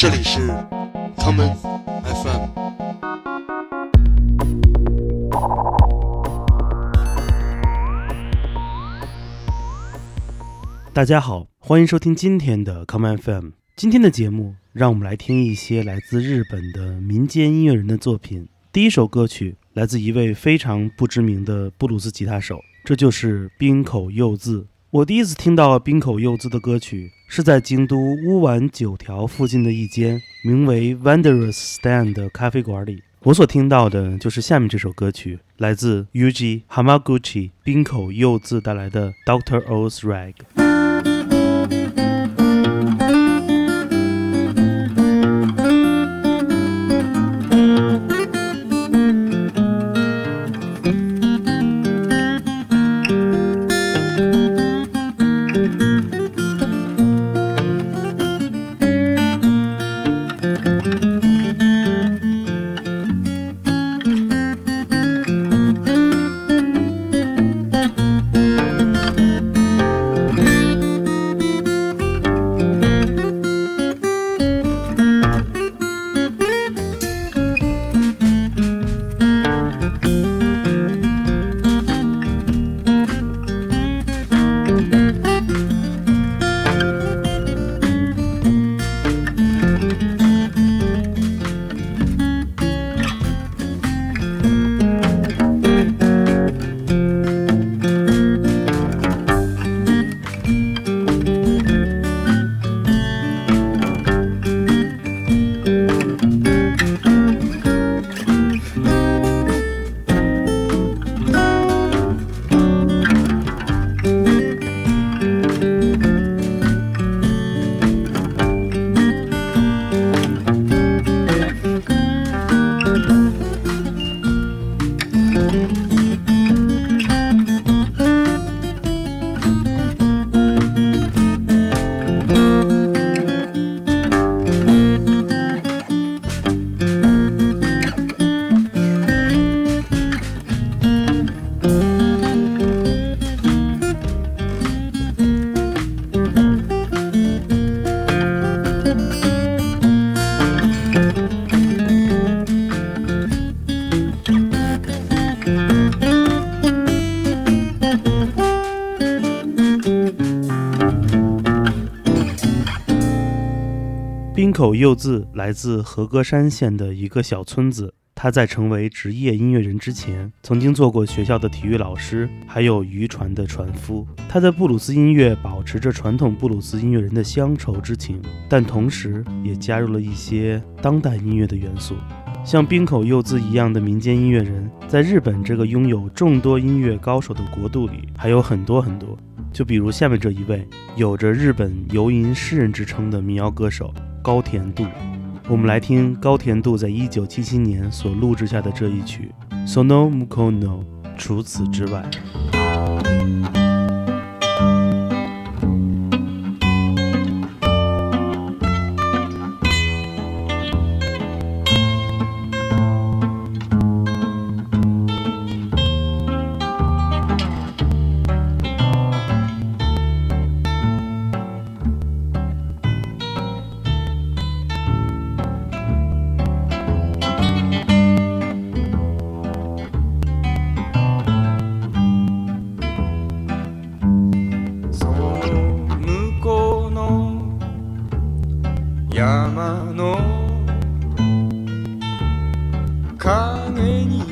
这里是 Common FM。 大家好，欢迎收听今天的 Common FM。今天的节目，让我们来听一些来自日本的民间音乐人的作品。第一首歌曲来自一位非常不知名的布鲁斯吉他手，这就是滨口佑自。我第一次听到滨口佑自的歌曲，是在京都乌丸9条附近的一间名为 Wanderers Stand 的咖啡馆里。我所听到的就是下面这首歌曲，来自 Yuji Hamaguchi 滨口佑自带来的 Dr. O's Rag。滨口佑自来自和歌山县的一个小村子，他在成为职业音乐人之前，曾经做过学校的体育老师，还有渔船的船夫。他的布鲁斯音乐保持着传统布鲁斯音乐人的乡愁之情，但同时也加入了一些当代音乐的元素。像滨口佑自一样的民间音乐人，在日本这个拥有众多音乐高手的国度里，还有很多很多。就比如下面这一位，有着日本游吟诗人之称的民谣歌手高田度。我们来听高田度在1977年所录制下的这一曲 Sono Mukono， 除此之外。 山の影に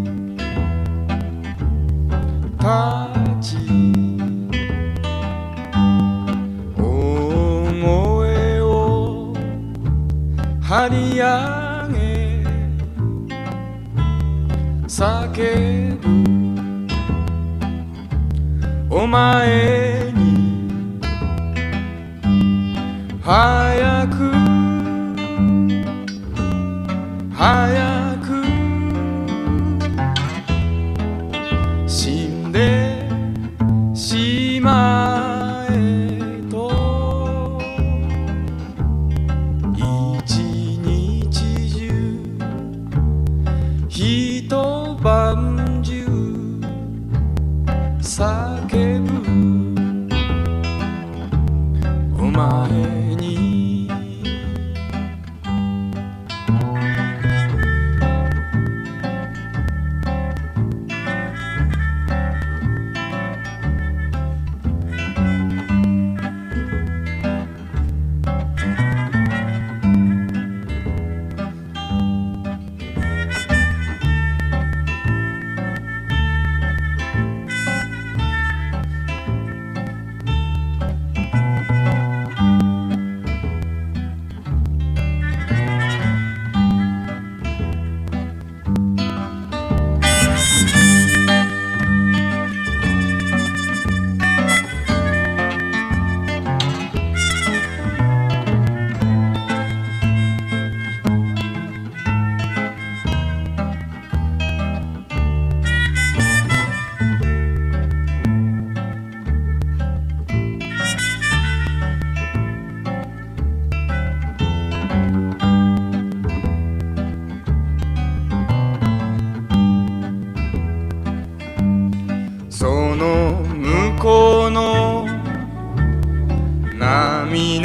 立ち大声を張り上げ叫ぶお前に早く早く死んでしまえと一日中一晩中叫ぶお前に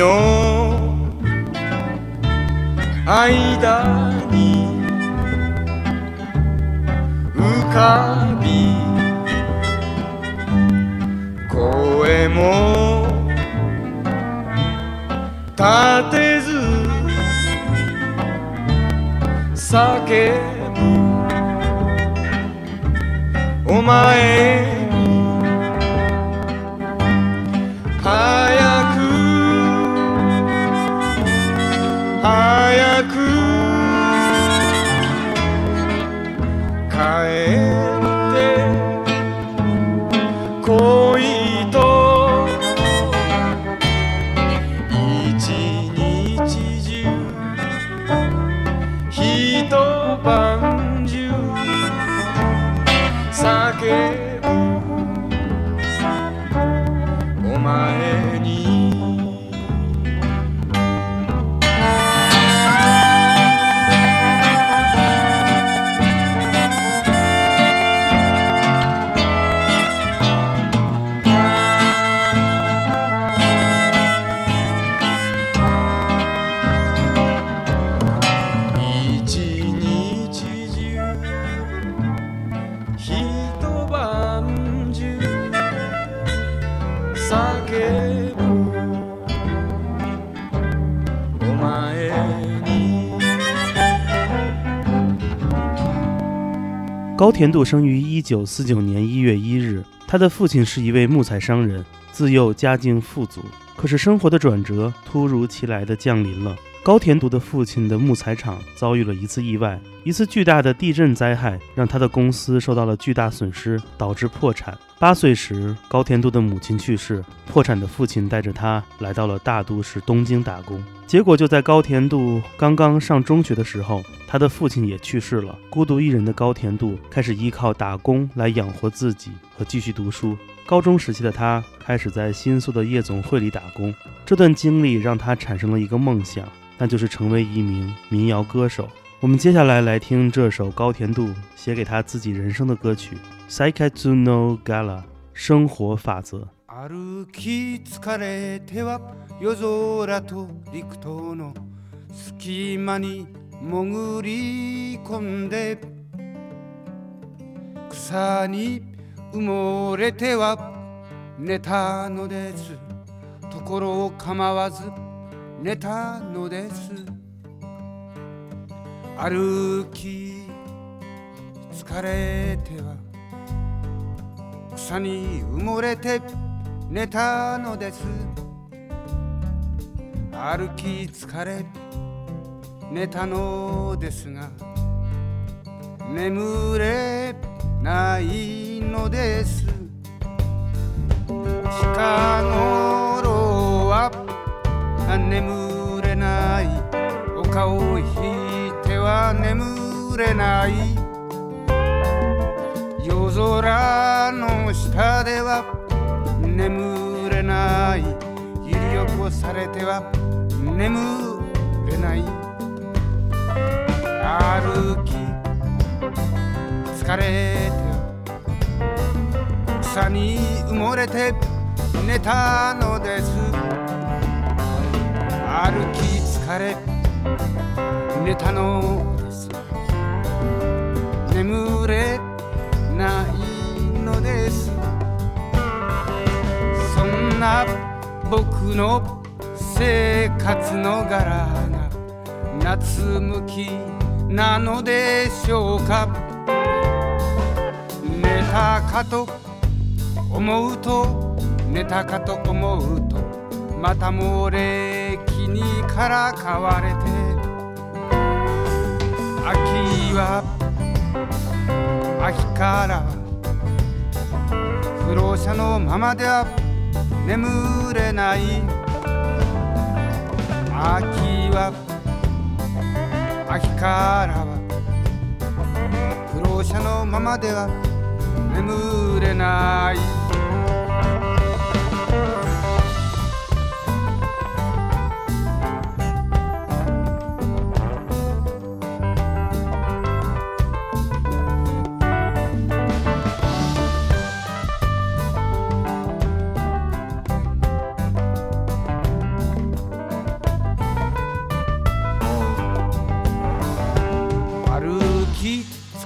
の間に浮かび声も立てず叫ぶお前早く早く帰って来いと一日中一晩中叫ぶお前に高田度生于1949年1月1日，他的父亲是一位木材商人，自幼家境富足。可是生活的转折突如其来地降临了。高田度的父亲的木材厂遭遇了一次意外，一次巨大的地震灾害让他的公司受到了巨大损失，导致破产。8岁时，高田度的母亲去世，破产的父亲带着他来到了大都市东京打工。结果就在高田度刚刚上中学的时候，他的父亲也去世了。孤独一人的高田度开始依靠打工来养活自己和继续读书。高中时期的他开始在新宿的夜总会里打工，这段经历让他产生了一个梦想，那就是成为一名民谣歌手。我们接下来听这首高田度写给他自己人生的歌曲《Saikatsu no Gala》生活法则。 歩き疲れては夜空と陸との隙間に潜り込んで草に埋もれては寝たのです。ところ構わず寝たのです。歩き疲れては草に埋もれて寝たのです。歩き疲れ寝たのですが眠れないのです。近頃は眠れない、お顔を引いては眠れない、夜空の下では眠れない、揺り起こされては眠れない、歩き疲れて草に埋もれて寝たのです。歩き疲れ寝たのです。眠れないのです。そんな僕の生活の柄が夏向きなのでしょうか。寝たかと思うと寝たかと思うとまたもれ木にからかわれて、秋は秋から不老者のままでは眠れない、秋は秋からは不老者のままでは眠れない。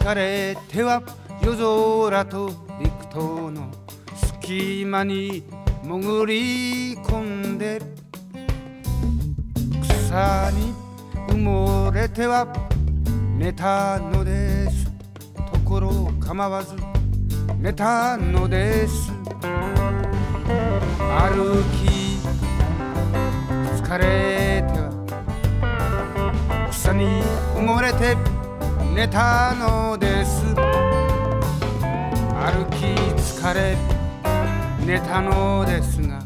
疲れては夜空と陸島の隙間に潜り込んで草に埋もれては寝たのです。ところ構わず寝たのです。歩き疲れては草に埋もれて寝たのです。歩き疲れ寝たのですが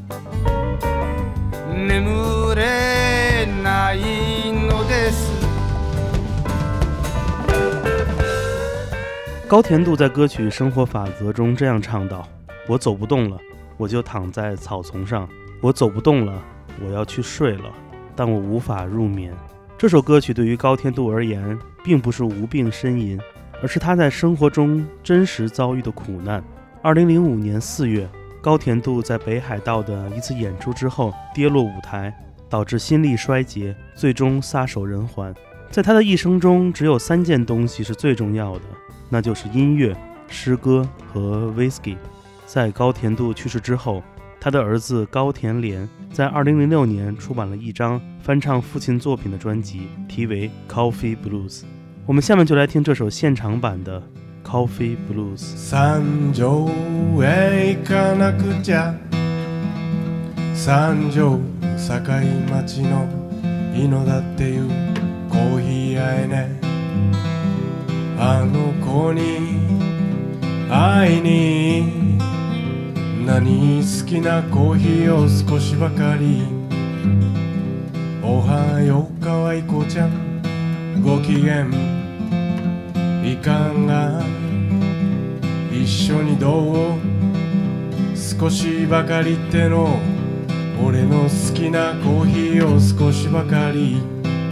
眠れないのです。 高田度在歌曲《生活法则》中这样唱道：我走不动了，我就躺在草丛上；我走不动了，我要去睡了，但我无法入眠。这首歌曲对于高田度而言，并不是无病呻吟，而是他在生活中真实遭遇的苦难。2005年4月，高田度在北海道的一次演出之后跌落舞台，导致心力衰竭，最终撒手人寰。在他的一生中，只有3件东西是最重要的，那就是音乐、诗歌和 whisky。 在高田度去世之后，他的儿子高田连在2006年出版了一张翻唱父亲作品的专辑，题为 Coffee Blues。 我们下面就来听这首现场版的 Coffee Blues。 三条へ行かなくちゃ、三条堺町の井の田っていうコーヒー屋へね、あの子に会いに、何好きなコーヒーを少しばかり。おはようかわいこちゃん、ご機嫌いかが、一緒にどう、少しばかりっての俺の好きなコーヒーを少しばかり。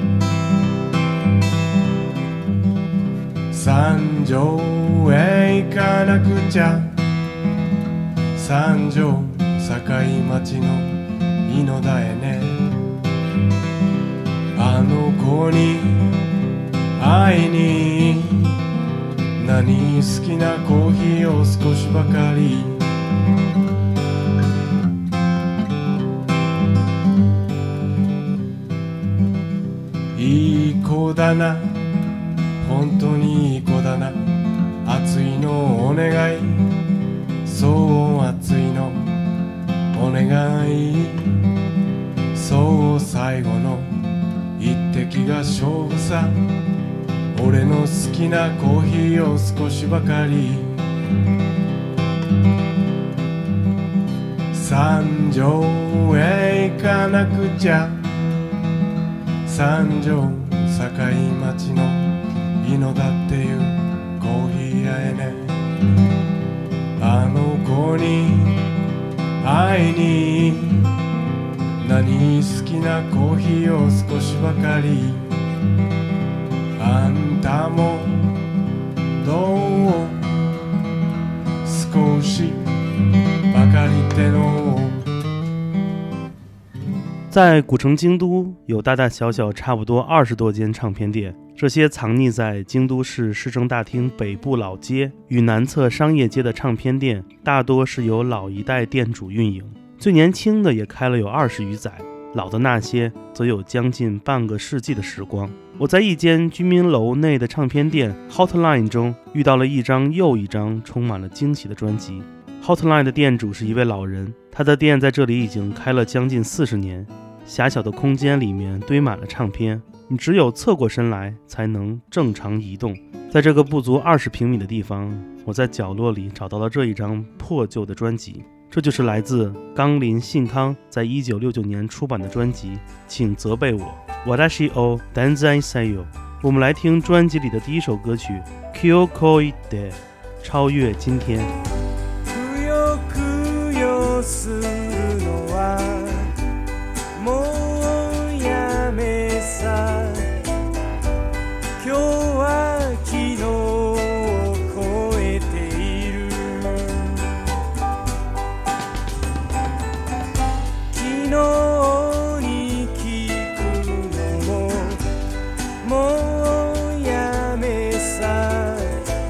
三条へ行かなくちゃ、三条堺町の井の田へね、あの子に会いに、何好きなコーヒーを少しばかり。いい子だな、本当にいい子だな、熱いのお願い、そう熱いのお願い、そう最後の一滴が勝負さ、俺の好きなコーヒーを少しばかり。三条へ行かなくちゃ、三条堺町の井の田っていうコーヒー屋へね、あの子に会いに、何好きなコーヒーを少しばかり。あんたもどう、少しばかりっての。 在古城京都有大大小小差不多20多间唱片店，这些藏匿在京都市市政大厅北部老街与南侧商业街的唱片店，大多是由老一代店主运营，最年轻的也开了有20余载，老的那些则有将近半个世纪的时光。我在一间居民楼内的唱片店 Hotline 中遇到了一张又一张充满了惊喜的专辑。 Hotline 的店主是一位老人，他的店在这里已经开了将近40年，狭小的空间里面堆满了唱片，你只有侧过身来才能正常移动。在这个不足20平米的地方，我在角落里找到了这一张破旧的专辑，这就是来自冈林信康在1969年出版的专辑《请责备我》Watashi o Danzai Sayo。 我们来听专辑里的第一首歌曲 Kyokoi de 超越今天。 くよくよするのはもうやめさ、今日は昨日を超えている、昨日に聞くのももうやめさ、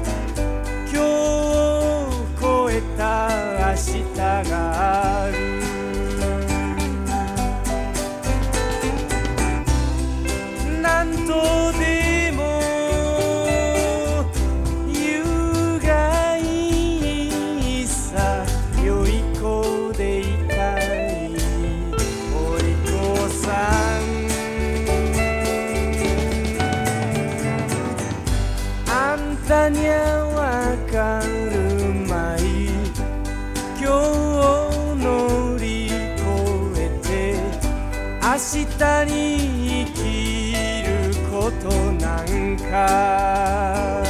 日に生きることなんか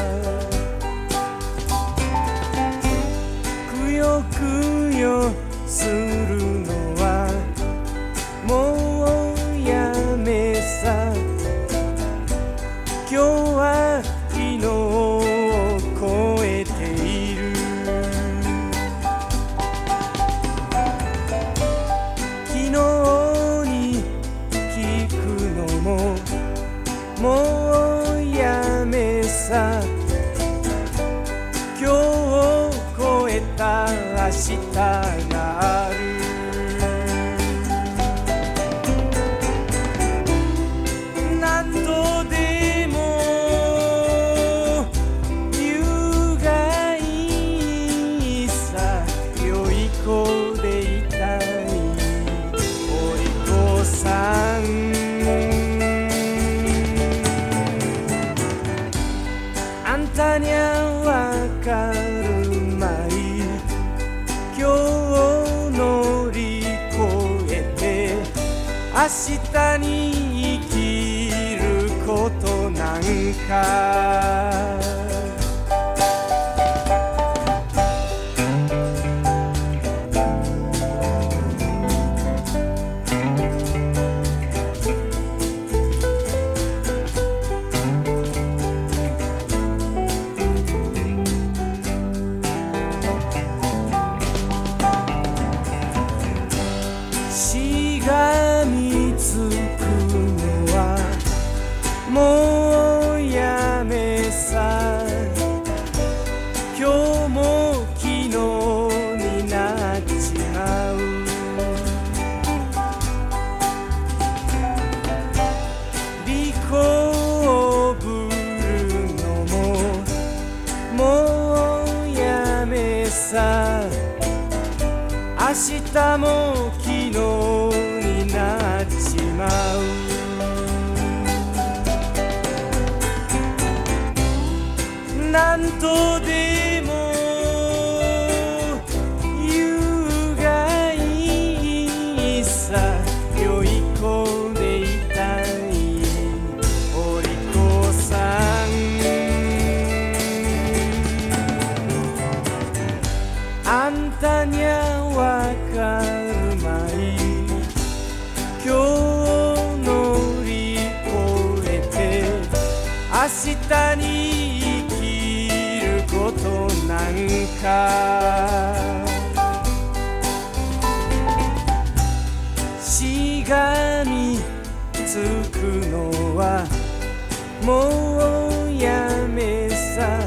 くよくよするのはもうやめさ今日は昨日を超えている昨日に聞くのももうやめさ今日を超えた明日がある何度でも言うがいいさ良い子でいたいお利口さんあんたにゃわかるまい今日を乗り越えて明日に生きることなんかしがみつくのはもうやめさ今日も昨日になっちまう利口をぶるのももうやめさ明日も昨日になっちまう何とでも言うがいいさ良い子でいたいお利口さんあんたにゃわかるまい今日を乗り越えて明日に生きることなんかしがみつくのはもうやめさ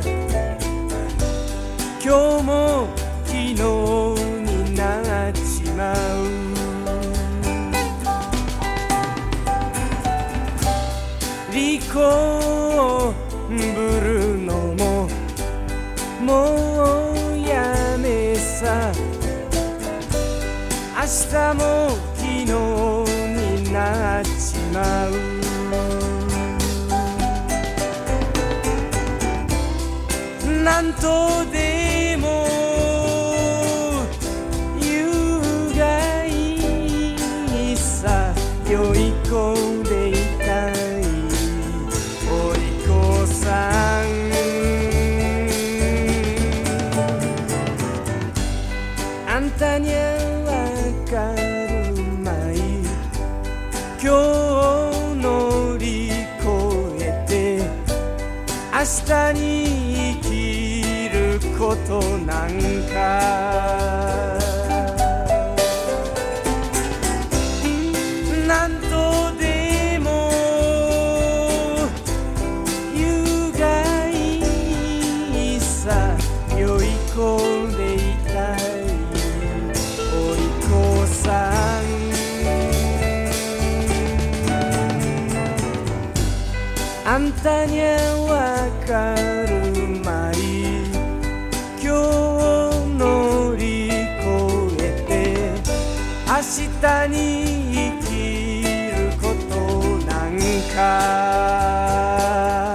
今日も昨日になっちまう利口をぶるのももうやめさ明日も昨日になっちまうなんとでも言うがいいさ良い子でいたいお利口さんあんたにゃわかるまい今日を乗り越えて明日に生きることなんかなんとでも言うがいいさ良い子でいたいお利口さんあんたにゃわかるまい今日を乗り越えて明日に生きることなんか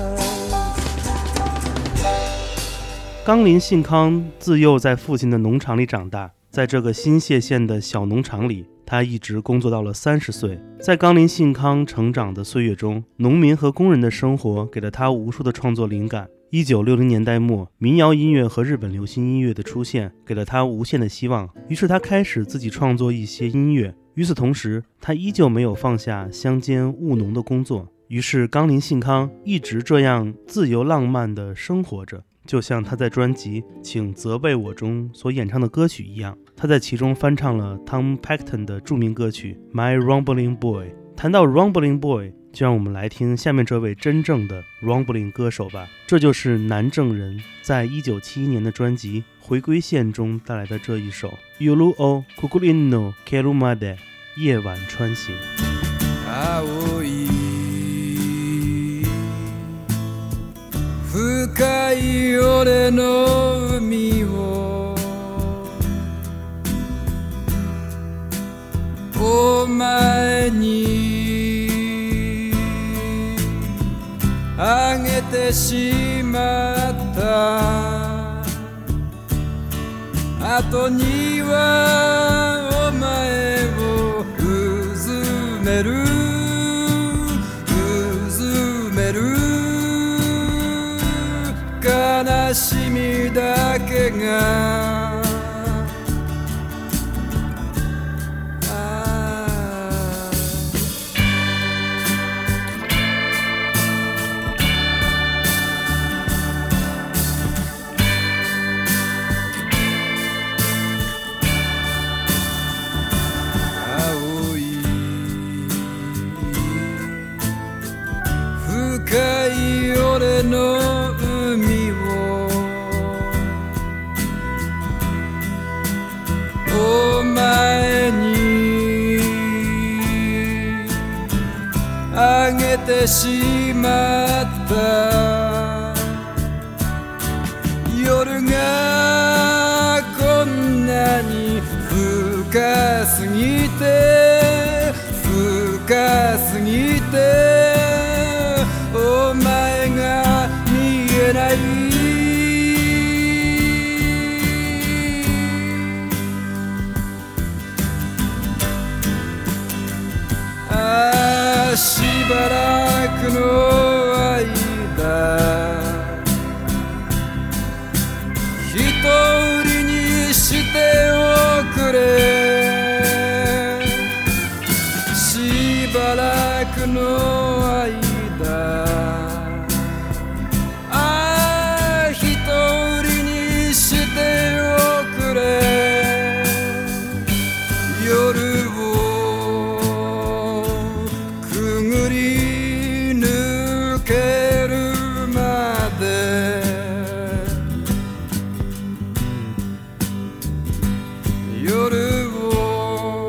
冈林信康自幼在父亲的农场里长大，在这个新泻县的小农场里， 他一直工作到了30岁。在冈林信康成长的岁月中，农民和工人的生活给了他无数的创作灵感。1960年代末，民谣音乐和日本流行音乐的出现给了他无限的希望，于是他开始自己创作一些音乐。与此同时，他依旧没有放下乡间务农的工作，于是冈林信康一直这样自由浪漫地生活着，就像他在专辑《请责备我》中所演唱的歌曲一样。他在其中翻唱了 Tom Paxton 的著名歌曲 My Rumbling Boy。 谈到 Rumbling Boy， 就让我们来听下面这位真正的 Rumbling 歌手吧。这就是南正人在1971年的专辑《回归线》中带来的这一首 Yuru o Kukurin no Kerumade 夜晚穿行。 青い深い俺の海をお前にあげてしまった後にはお前をうずめる悲しみだけが青い深い俺の海をお前にあげてしまった夜がこんなに深すぎてお前が見えないしばらくの間一人にしておくれしばらくの間一人にしておくれ夜をくぐり抜けるまで夜を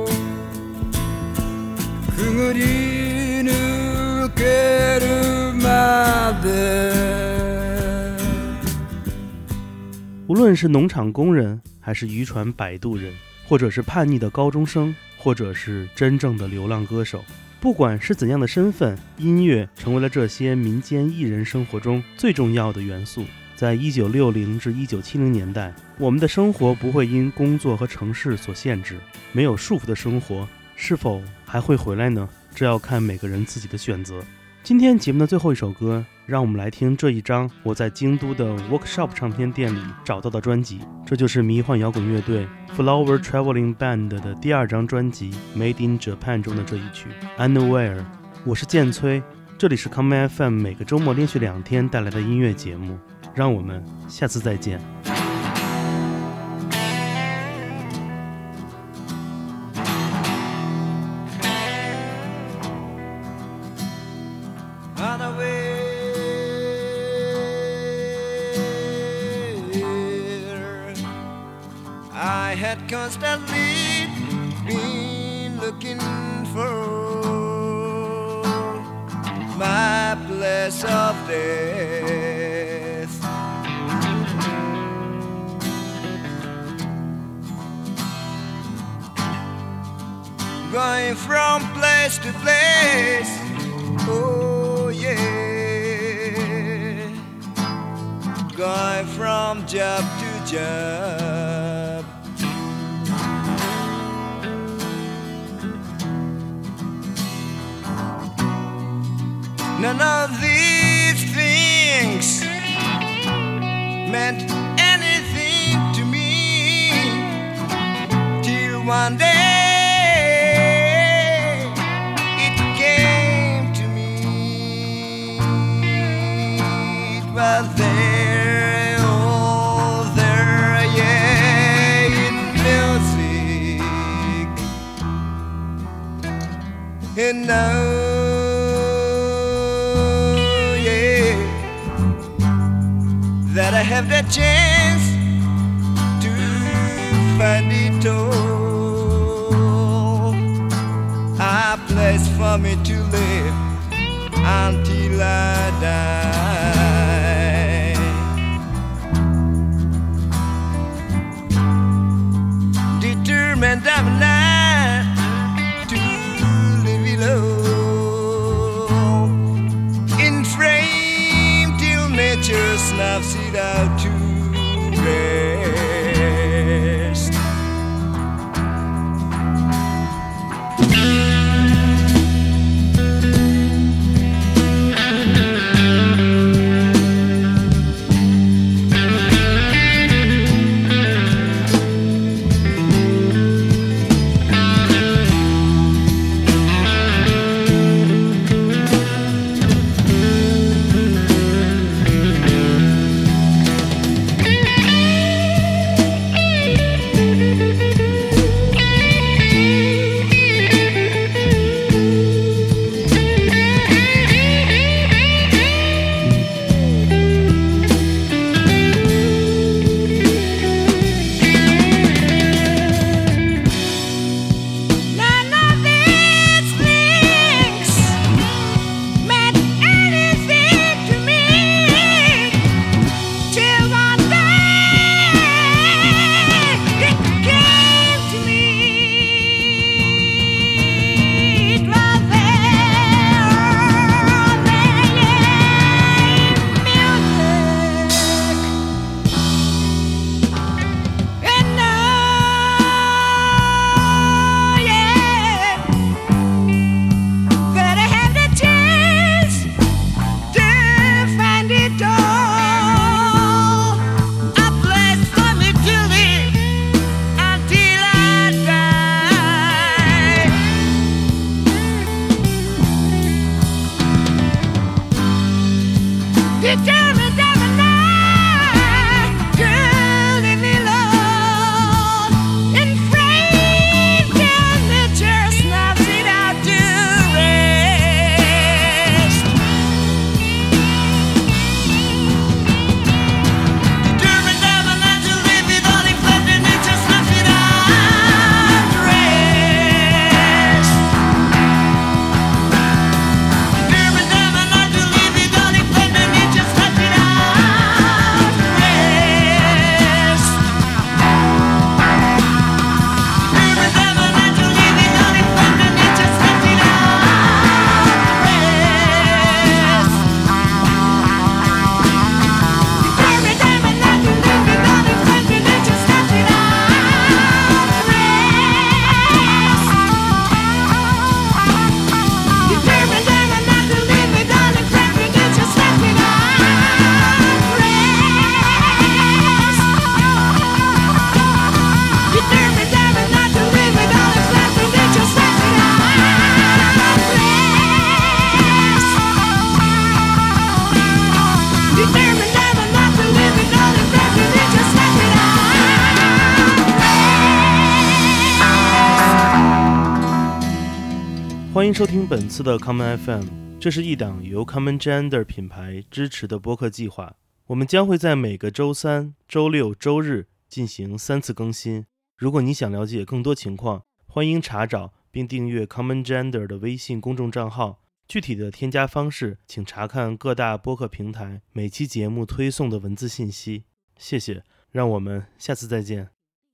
くぐり抜けるまで无论是农场工人，还是渔船摆渡人，或者是叛逆的高中生，或者是真正的流浪歌手，不管是怎样的身份，音乐成为了这些民间艺人生活中最重要的元素。在1960至1970年代，我们的生活不会因工作和城市所限制，没有束缚的生活是否还会回来呢？这要看每个人自己的选择。今天节目的最后一首歌，让我们来听这一张我在京都的 Workshop 唱片店里找到的专辑，这就是迷幻摇滚乐队 Flower Traveling Band 的第2张专辑 Made in Japan 中的这一曲 Unaware。 我是建崔，这里是 Come FM 每个周末连续2天带来的音乐节目，让我们下次再见。 I had constantly been looking for my place of death. Going from place to place, oh yeah. Going from job to job. None of these things meant anything to me till one day it came to me. It was there, oh there, yeah, in music. And now, yeah, that I have the chance to find it all, a place for me to live until I die. Determined I'm not to live alone, in frame till nature snuffs it out to rest. Determined I'm not to live alone, in frame till nature snuffs it out to rest. Determined I'm not to live it all, in frame till nature snuffs it out to rest. Determined I'm not to live it all, in frame till nature snuffs it out to rest. Determined I'm not to live it all, in frame till nature snuffs it out to rest. Determined I'm not to live it all, in frame till nature snuffs it out to rest. Determined I'm not to live it all, in frame till nature snuffs it out to rest. Determined I'm not to live it all, in frame till nature snuffs it out to rest. Determined I'm not to live it all, in frame till nature snuffs it out to rest. 欢迎收听本次的 Common FM， 这是一档由 Common Gender 品牌支持的播客计划。我们将会在每个周三、周六、周日进行3次更新。如果你想了解更多情况，欢迎查找并订阅 Common Gender 的微信公众账号。具体的添加方式，请查看各大播客平台每期节目推送的文字信息。谢谢，让我们下次再见。